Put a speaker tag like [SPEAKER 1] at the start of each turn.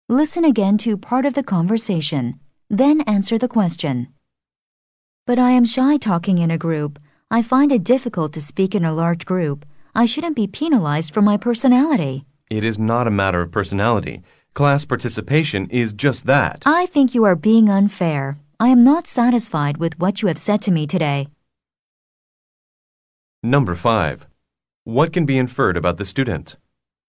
[SPEAKER 1] Listen again to part of the conversation, then answer the question. But I am shy talking in a group. I find it difficult to speak in a large group. I shouldn't be penalized for my personality.
[SPEAKER 2] It is not a matter of personality. Class participation is just that.
[SPEAKER 1] I think you are being unfair. I am not satisfied with what you have said to me today.
[SPEAKER 2] Number 5. What can be inferred about the student?